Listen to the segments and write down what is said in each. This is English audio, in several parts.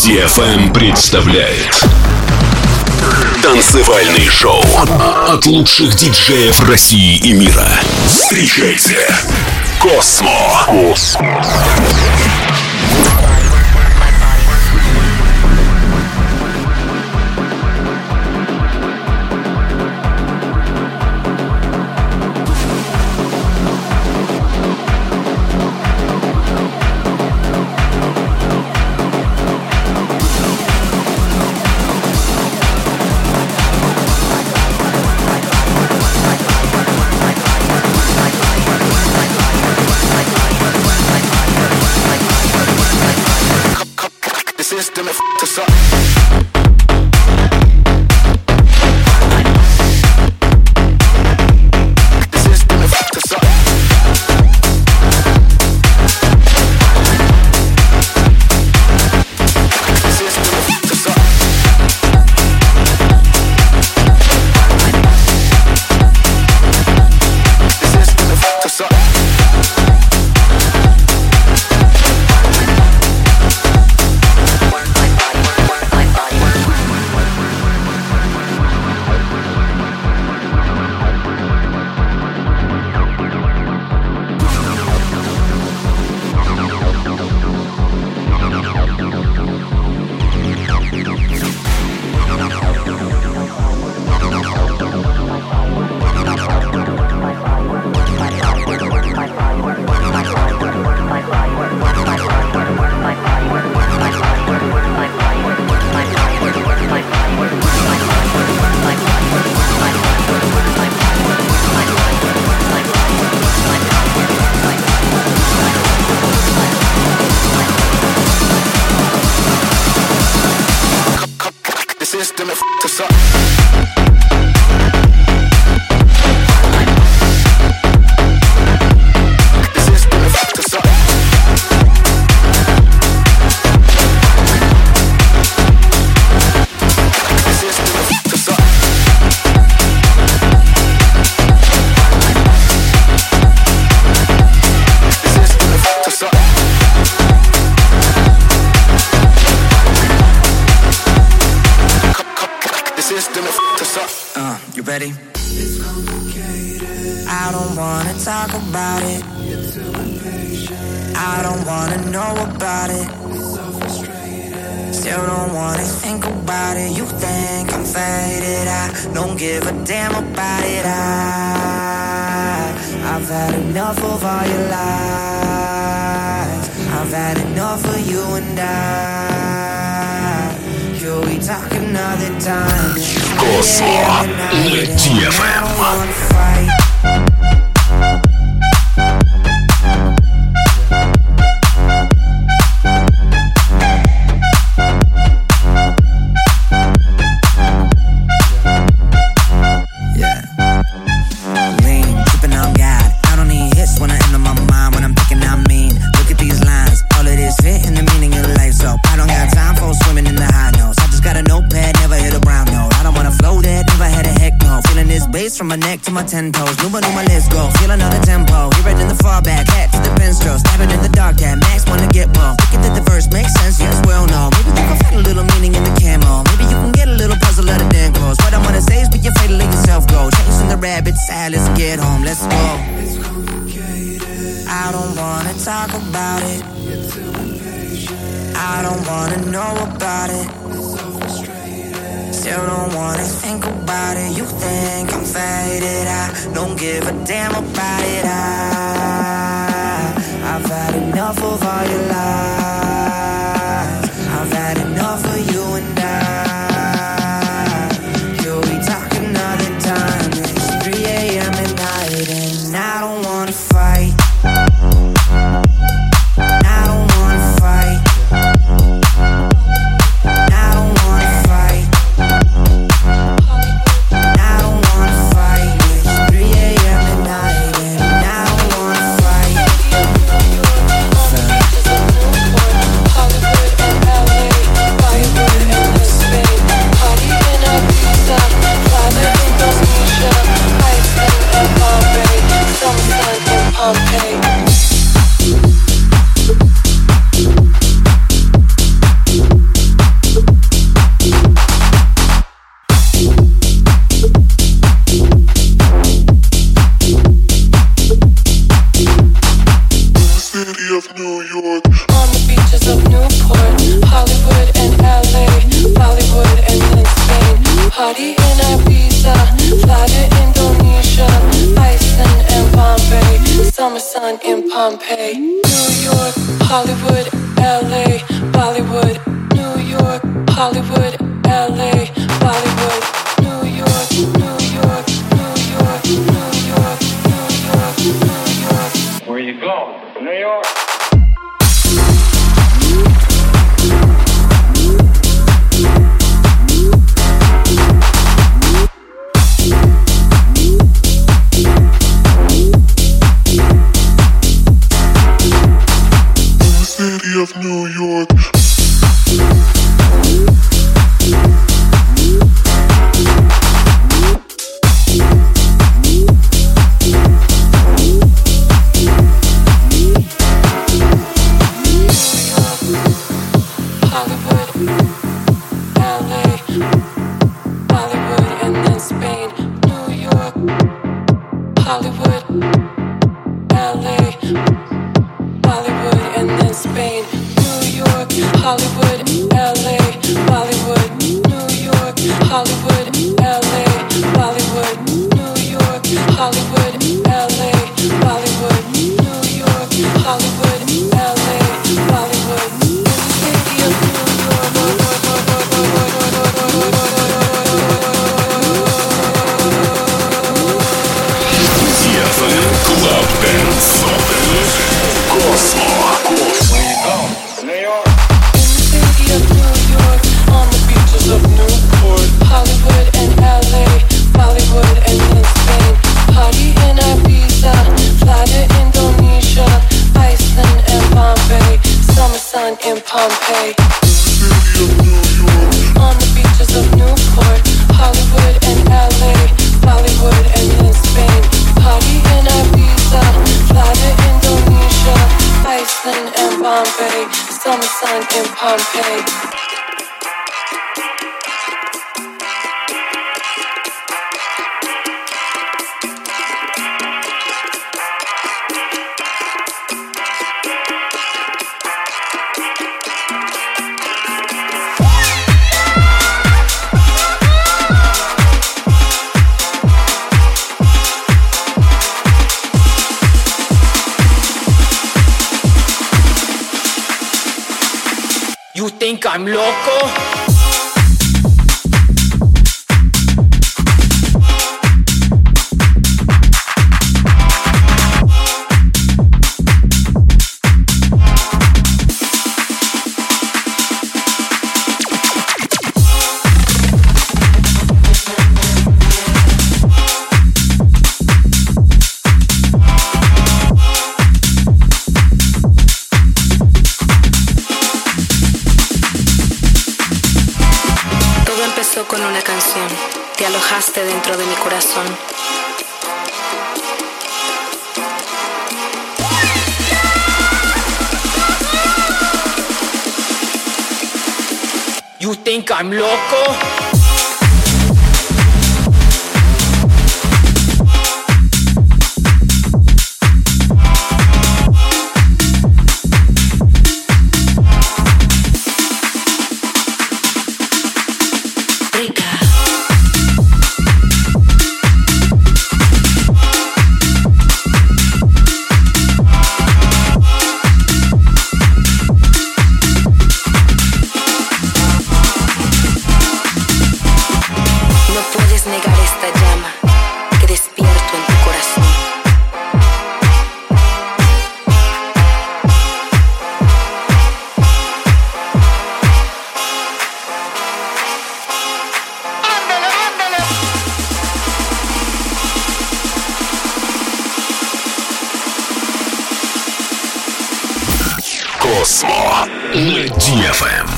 DFM представляет танцевальный шоу от лучших диджеев России и мира. Встречайте Космо. System f***ed us up. The system f***ed us up. The system f***ed us up. The system f***ed us up. System f***ed us up. The system f***ed us up. The system f***ed us up. The system f***ed us up. System f***ed us up. You ready? It's complicated. I don't wanna talk about it. You're too impatient. I don't wanna know about it. It's so frustrated. Still don't wanna think about it. You think I'm faded. I don't give a damn about it. I've had enough of all your lies. I've had enough of you and we talk another time. Космо на DFM. From my neck to my 10 toes, Numa, let's go. Feel another tempo. Hear it in the fallback, hat to the pen stroke. Stabbing in the dark, that max wanna get more. Thinking that the verse makes sense, yes, well, no. Maybe you can find a little meaning in the camo. Maybe you can get a little puzzle out of damn close. What I wanna say is be afraid to let yourself go. Chasing the rabbit side, let's get home, let's go. It's complicated. I don't wanna talk about it. You're too impatient. I don't wanna know about it. Still don't wanna think about it. You think I'm faded. I don't give a damn about it. I've had enough of all your lies. I've had enough of you and You'll be talking another time. It's 3 a.m. at night and I don't wanna fight. I don't wanna fight. I don't wanna fight. I don't wanna fight. It's 3 a.m. at night and I don't wanna fight. city of New York. On the beaches of Newport, Hollywood and LA, Bollywood and then Spain. Party in Ibiza, fly to Indonesia, Iceland and Bombay. Summer sun in Pompeii. New York, Hollywood, LA, Bollywood. New York, Hollywood, LA, Bollywood. New York, New York, New York, New York, New York, New York. Where you go? New York. City of New York. Hollywood, LA, Bollywood and then Spain. New York, Hollywood, LA, Bollywood and then Spain. New York, Hollywood, LA, Bollywood. New York, Hollywood, LA, Bollywood. New York, Hollywood, LA, Bollywood. New York, Hollywood, LA, Bollywood. City of New York. DFM Club Dance. Cosmo. Where you go? New York. City of New York, on the beaches of Newport, Hollywood and LA, Bollywood and then Spain. Party in Ibiza, fly to Indonesia, Iceland and Bombay. Summer sun in Pompeii. City of New York, on the beaches of Newport, Hollywood and LA, Bollywood and then Spain. Party in Ibiza, fly to Indonesia, Iceland and Bombay. Summer sun in Pompeii. You think I'm loco? Con una canción, te alojaste dentro de mi corazón. You think I'm loco? Cosmo на DFM.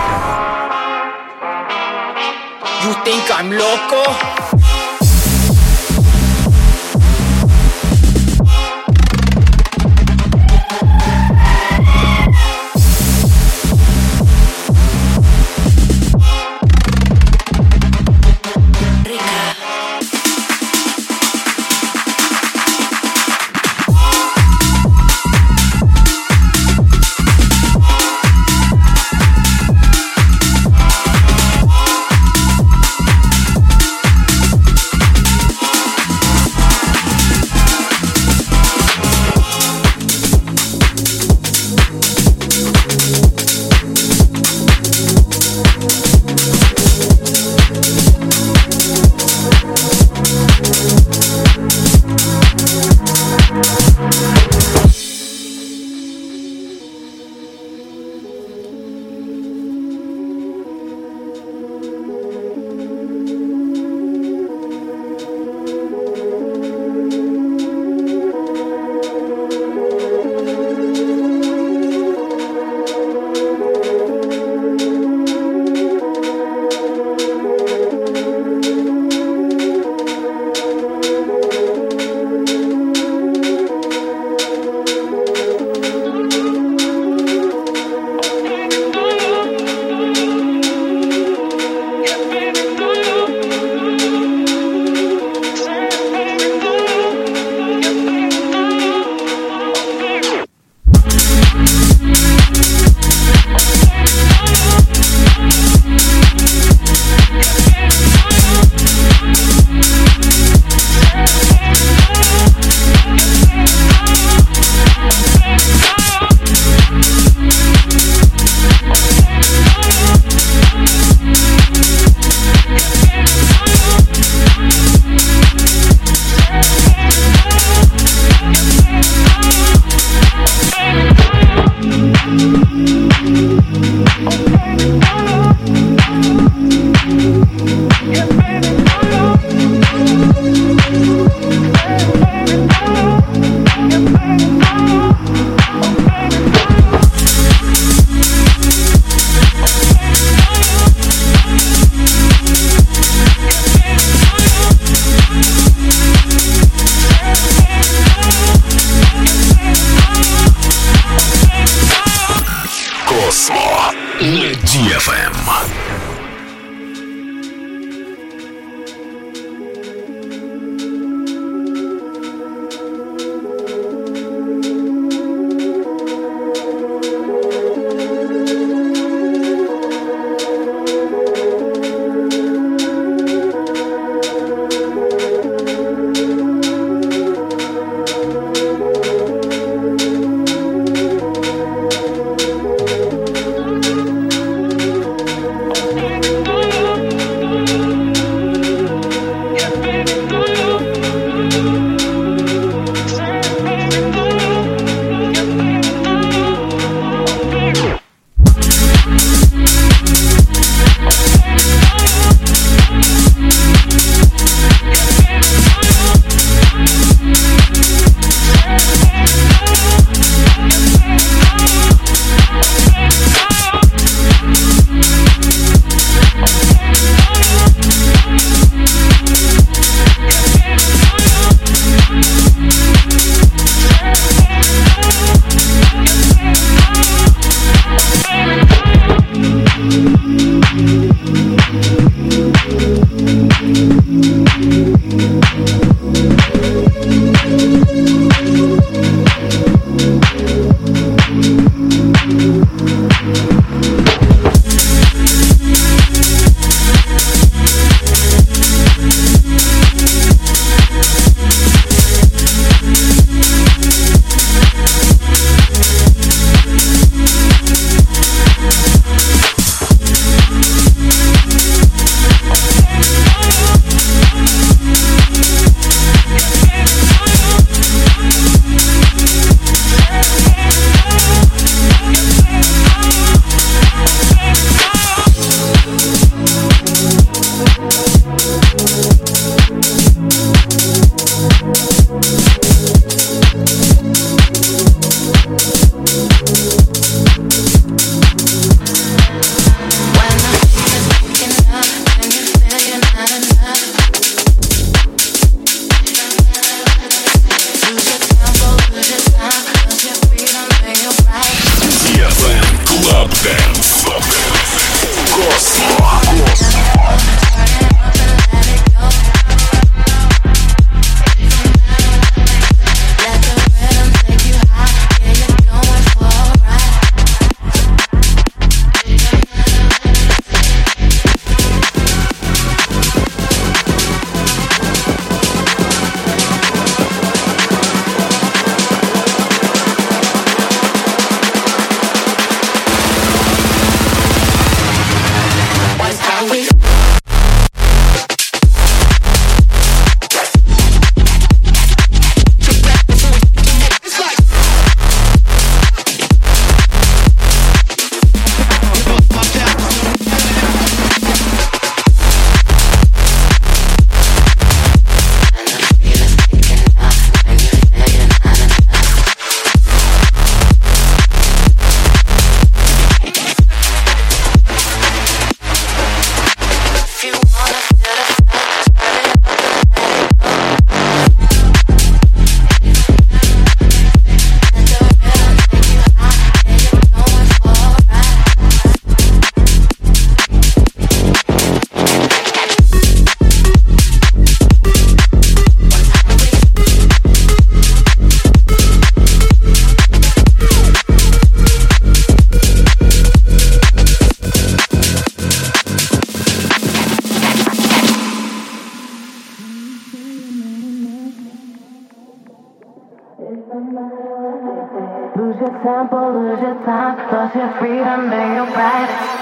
You think I'm loco? Космо на DFM. Lose your tempo, lose your time, lost your freedom and your pride.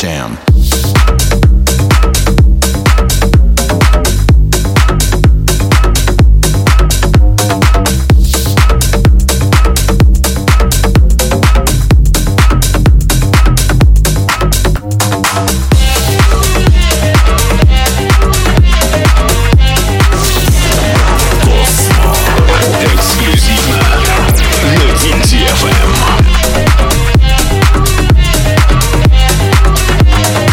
Jam. Эксклюзивно на DFM.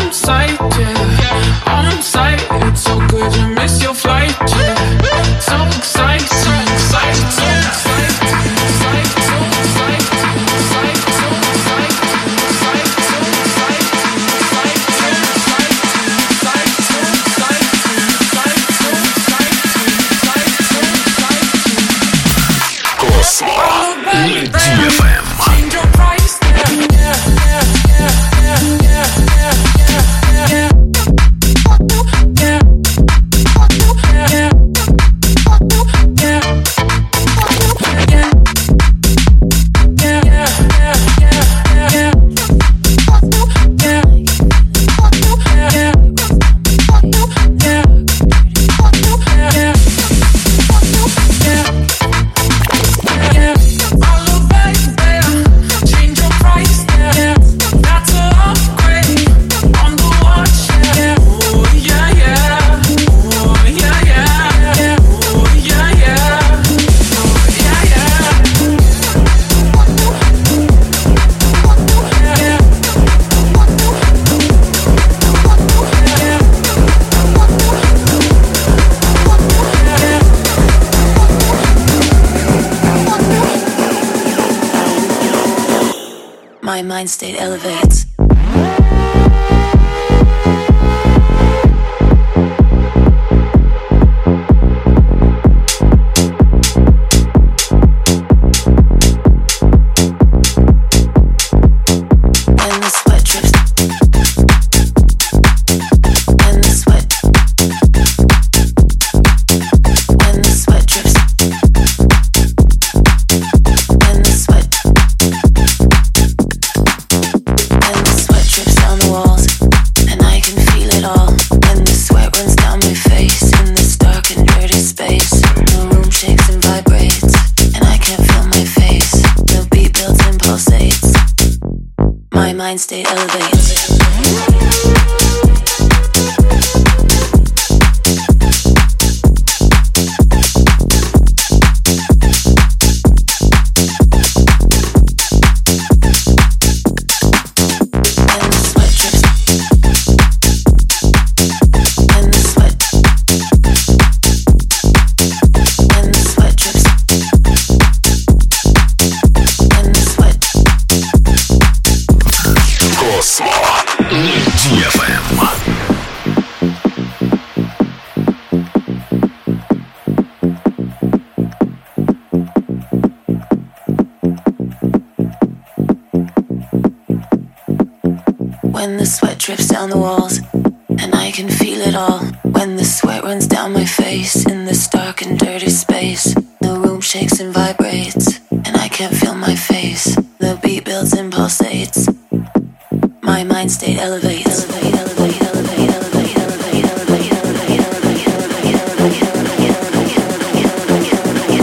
on sight, yeah. On sight, it's so good to miss your flight, yeah. So exciting, exciting, so exciting, exciting, so exciting, exciting, so exciting, exciting, so My mind state elevates. Mind state elevates. When the sweat drips down the walls, and I can feel it all. When the sweat runs down my face in this dark and dirty space. The room shakes and vibrates, and I can't feel my face. The beat builds and pulsates. My mind state elevates. Elevate, elevate, elevate, elevate, elevate, elevate, elevate, elevate, elevate, elevate, elevate, elevate, elevate, elevate,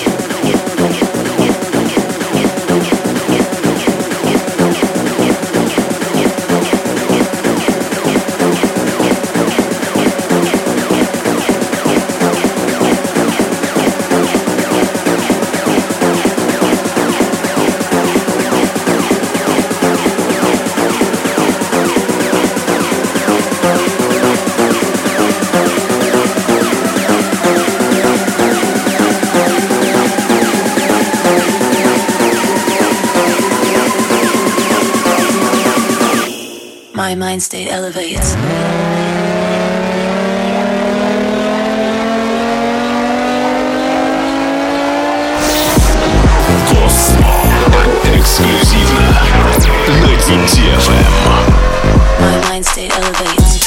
my mind state elevates. Эксклюзивно на DFM. My mind state elevates.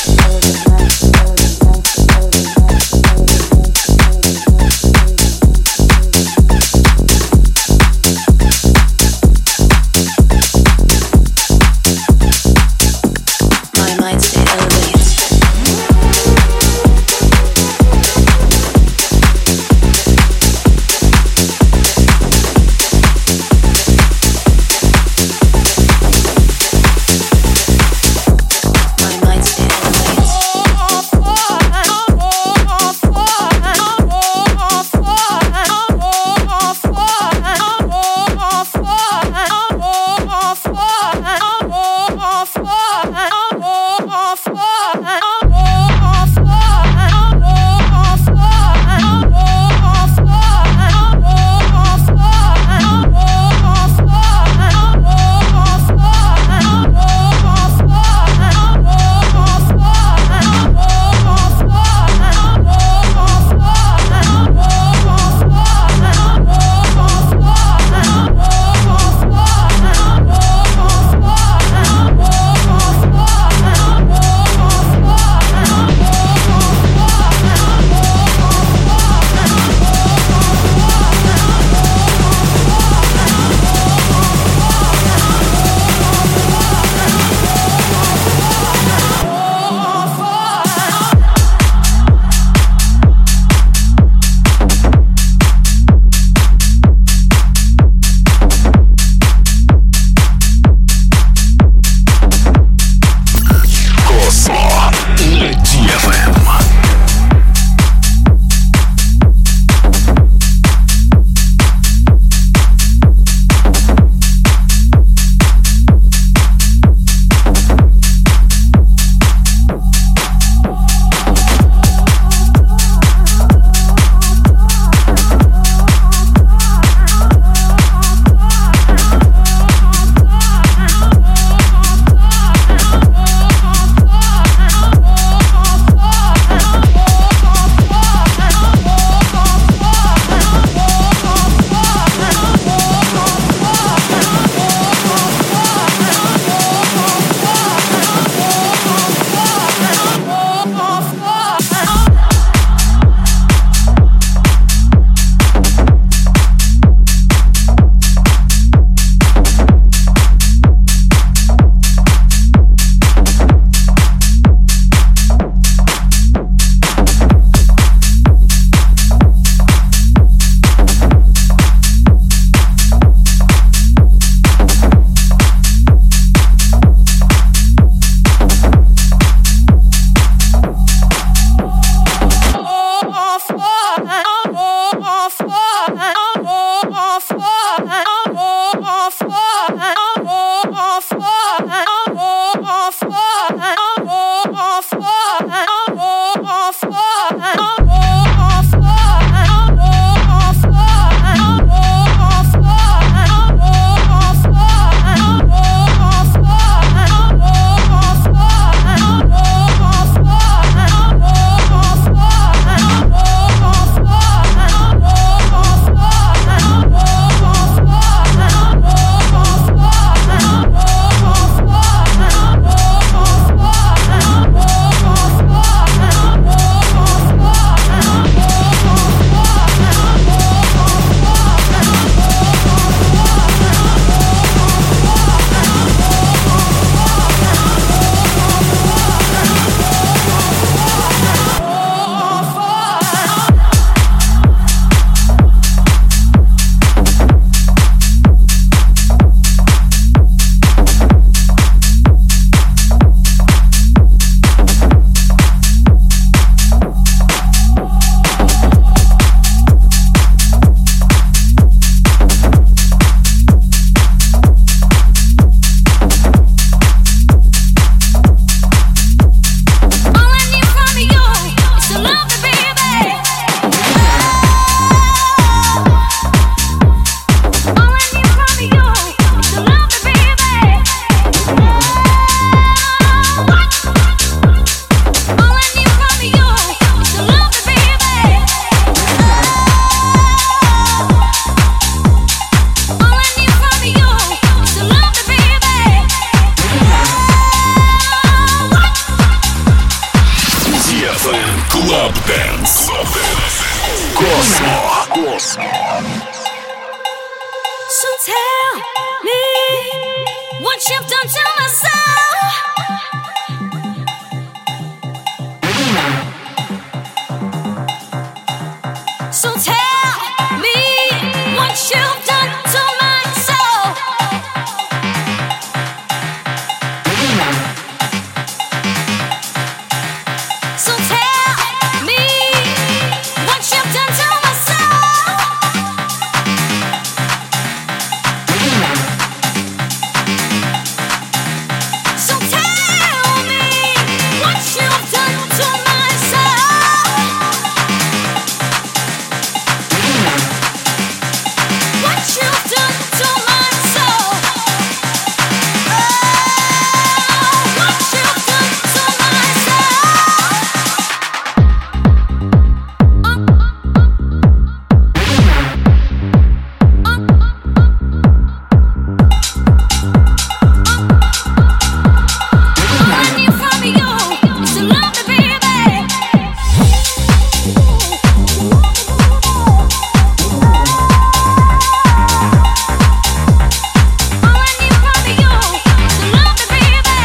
tell me what you've done to my soul. So tell me what you've done to my soul. So tell me what you've done to my soul. So tell me what you've done to my soul. What you've done to my soul. Oh, what you've done to my all I need from you is to love me, baby. All I need from you is to love me, baby.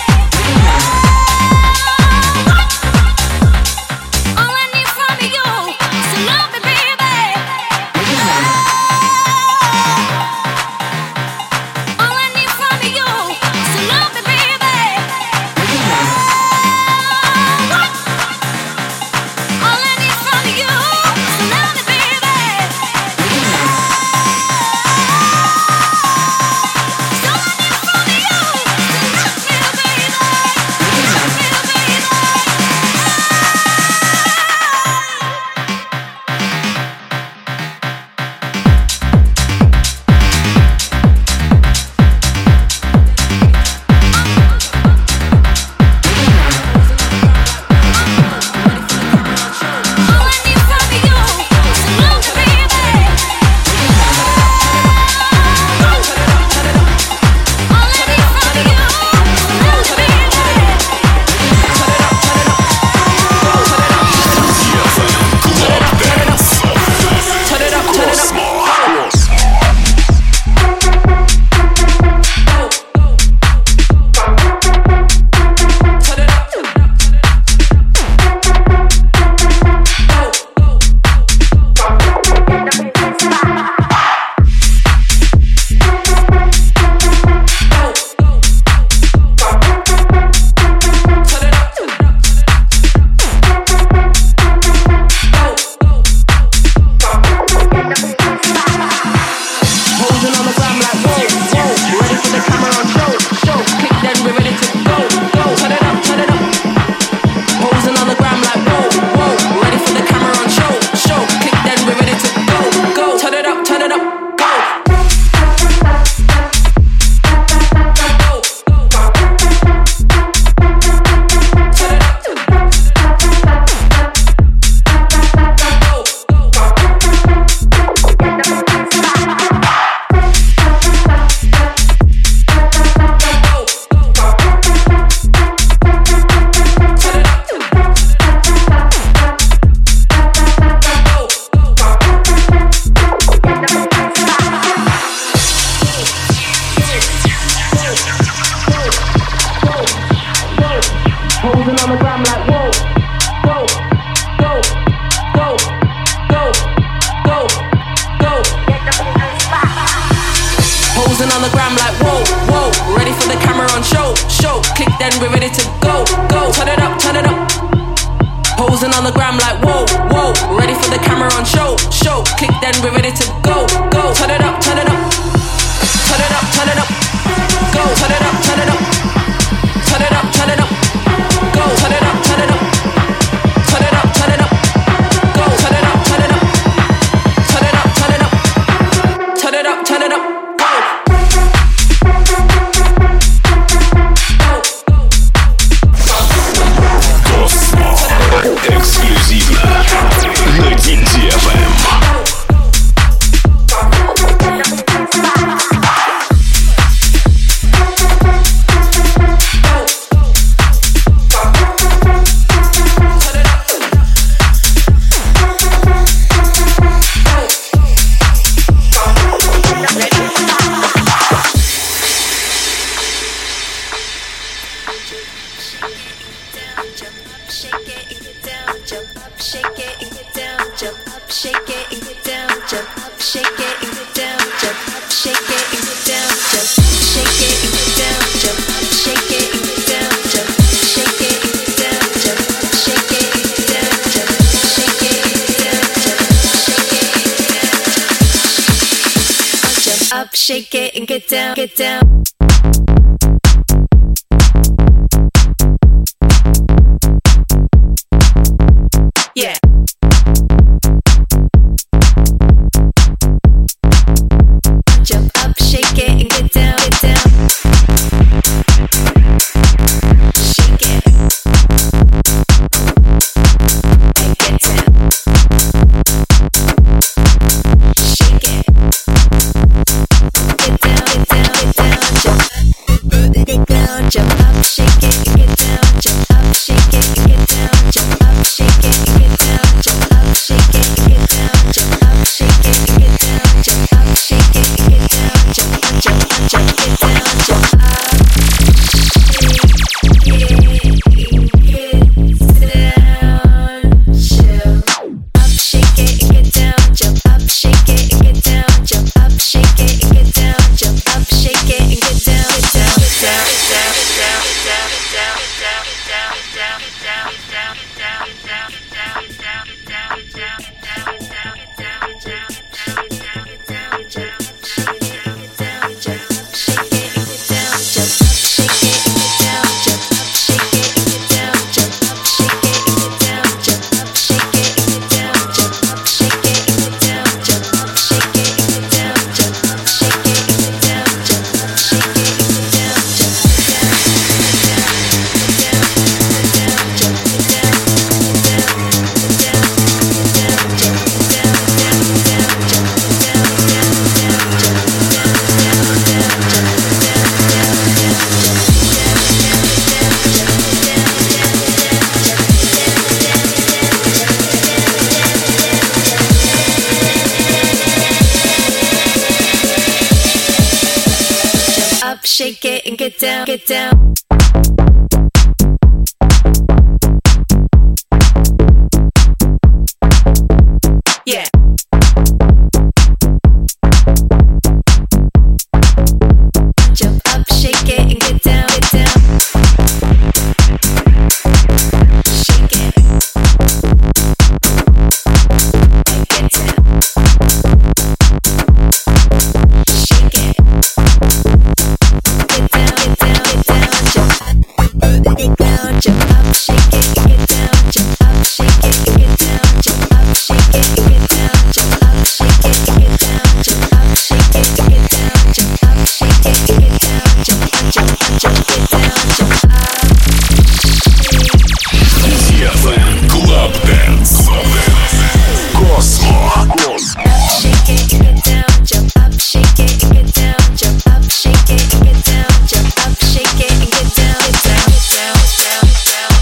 All I need from you is to love me, baby. All I need from you is to love me, baby. All I need from you is to love me, baby. So I need from you is to love me, baby. Love me, baby. All I need from you is to love me, baby. All I need from you is to love me, Posing on the gram like whoa, whoa. Ready for the camera on show, show. Click then we're ready to go, go. Turn it up, turn it up. Posing on the gram like whoa, whoa. Ready for the camera on show, show. Click then we're ready to go, go. Turn it up, turn it up. Go. Posing on the gram like whoa, go, go, go, go, go, go. Posing on the gram like whoa, whoa. Ready for the camera on show, show. Click then we're ready to go, go. Turn it up, turn it up. Posing on the gram like whoa, whoa. Ready for the camera on show, show. Click then we're ready to go, go. Turn it up, turn it up. Turn it up, turn it up. Go, turn it up, turn it up. Turn it up, turn it up. Go, turn it up, turn it up. Turn it up, turn it up. Go, turn it up, turn it up. Turn it up, turn it up. Turn it up, turn it up. Go. Эксклюзивно на DFM. Shake it and get down, get down. Yeah. Jump up, shake it and get down, get down. Shake it and get down. Shake it. Get down, get down, get down, jump up, jump up, shake it, get down, jump up, shake it, get down, jump up, shake it, get down, jump up, shake it, get down, jump up, shake it, get down, jump up, shake it, get down, jump up, jump up, jump, get down, jump up, shake it, get down, jump up, shake it, get down, jump up, shake it, get down, jump up, shake it, get down, get down, get down, shake it and get down, get down. Yeah. Jump up, shake it and get down, get down. Shake it and get down. Shake it. Get down, get down, get down, jump up, get down, jump up, shake it, get down, jump up, shake it, get down, jump up, shake it, get down, jump up, shake it, get down, jump up, shake it, get down, jump up, shake it, get down, jump up, jump up, jump, get down, jump up. DFM Club Dance. Cosmo. Shake it, get down, jump up, shake it, get down, jump up, shake it, get down, jump up, shake it, get down, get down, get down, get down, get down.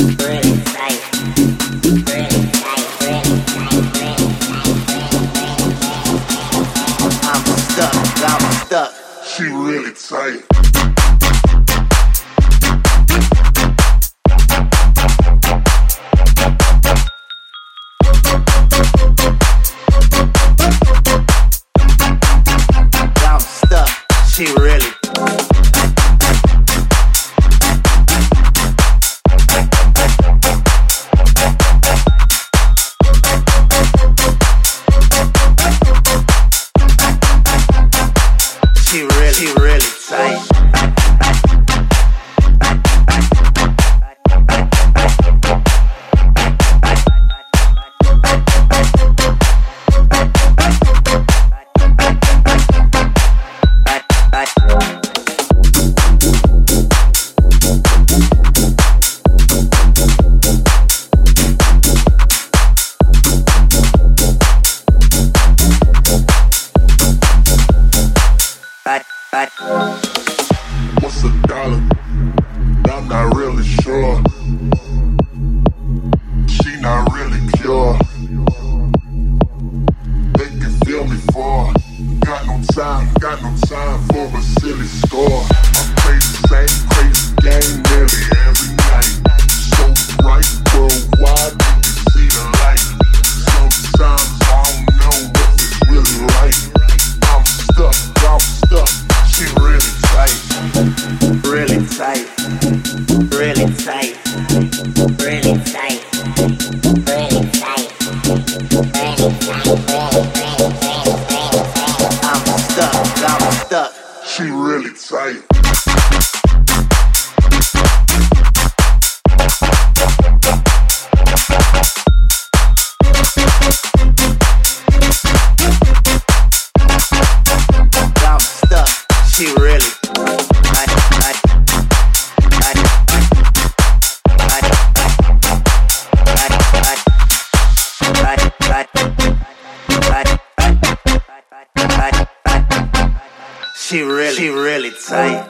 She really tight. I'm stuck. She really. She really tight. What's a dollar? I'm not really sure. She not really pure. They can feel me for. Got no time for a silly score. I play the same crazy game nearly every night. So bright worldwide, you can see the light. Sometimes I don't know if it's really right. I'm stuck. She really tight. Really tight. Really tight. Really tight. Really tight. I'm stuck. She really tight. I'm stuck. She really. She really tight.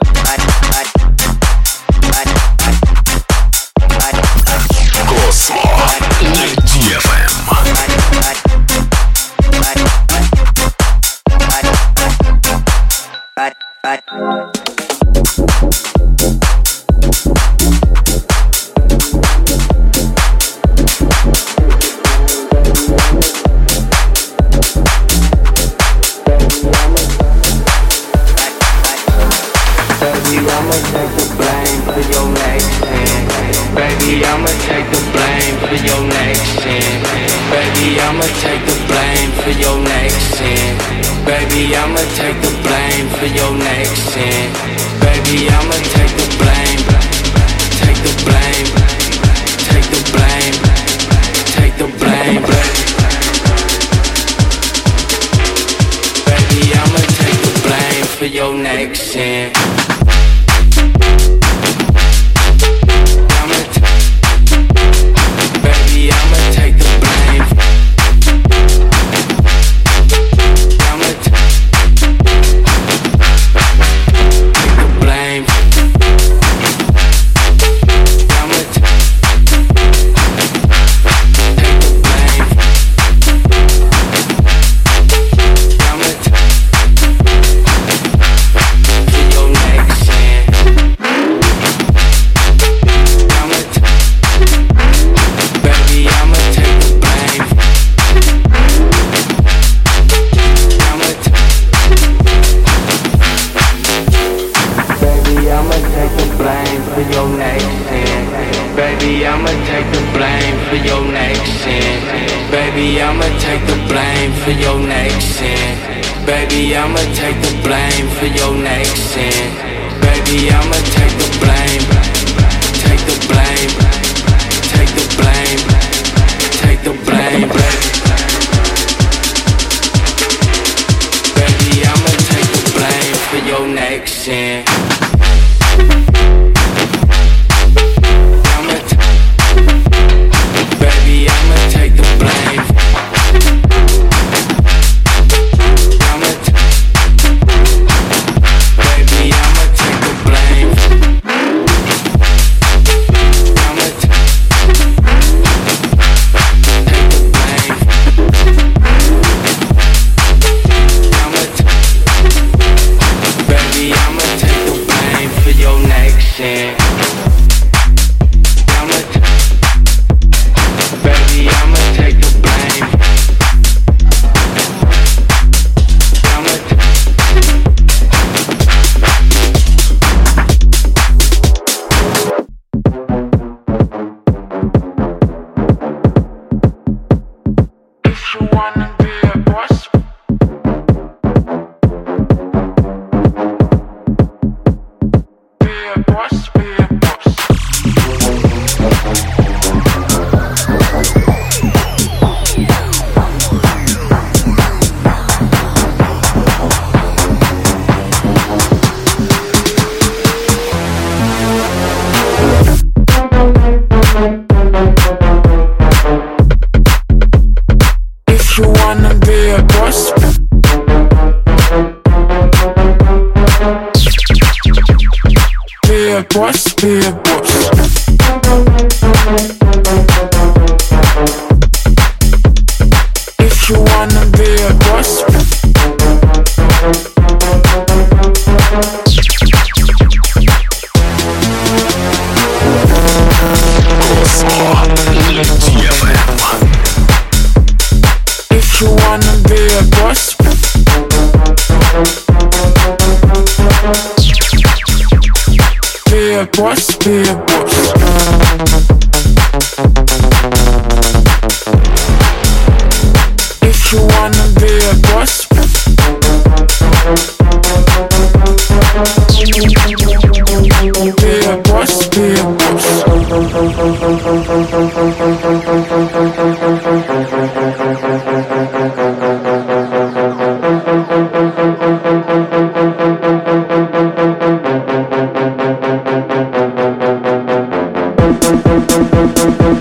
Космо на DFM. I'ma take the blame for your next sin. Baby, I'ma take the blame for your next sin. Baby, I'ma take the blame for your next sin. Baby, I'ma take the blame for your next sin. Baby, I'ma take the blame. Take the blame. Take the blame. Take the blame. Baby, I'ma take the blame for your next sin.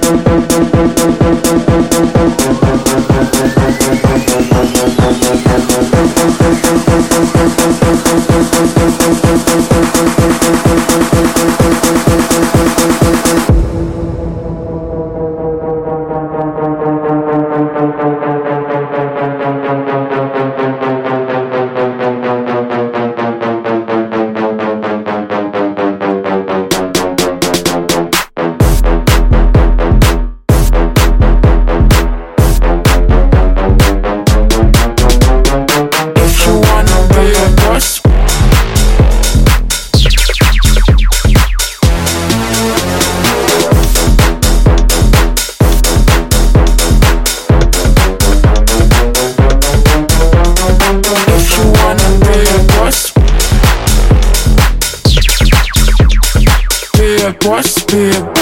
boss, be a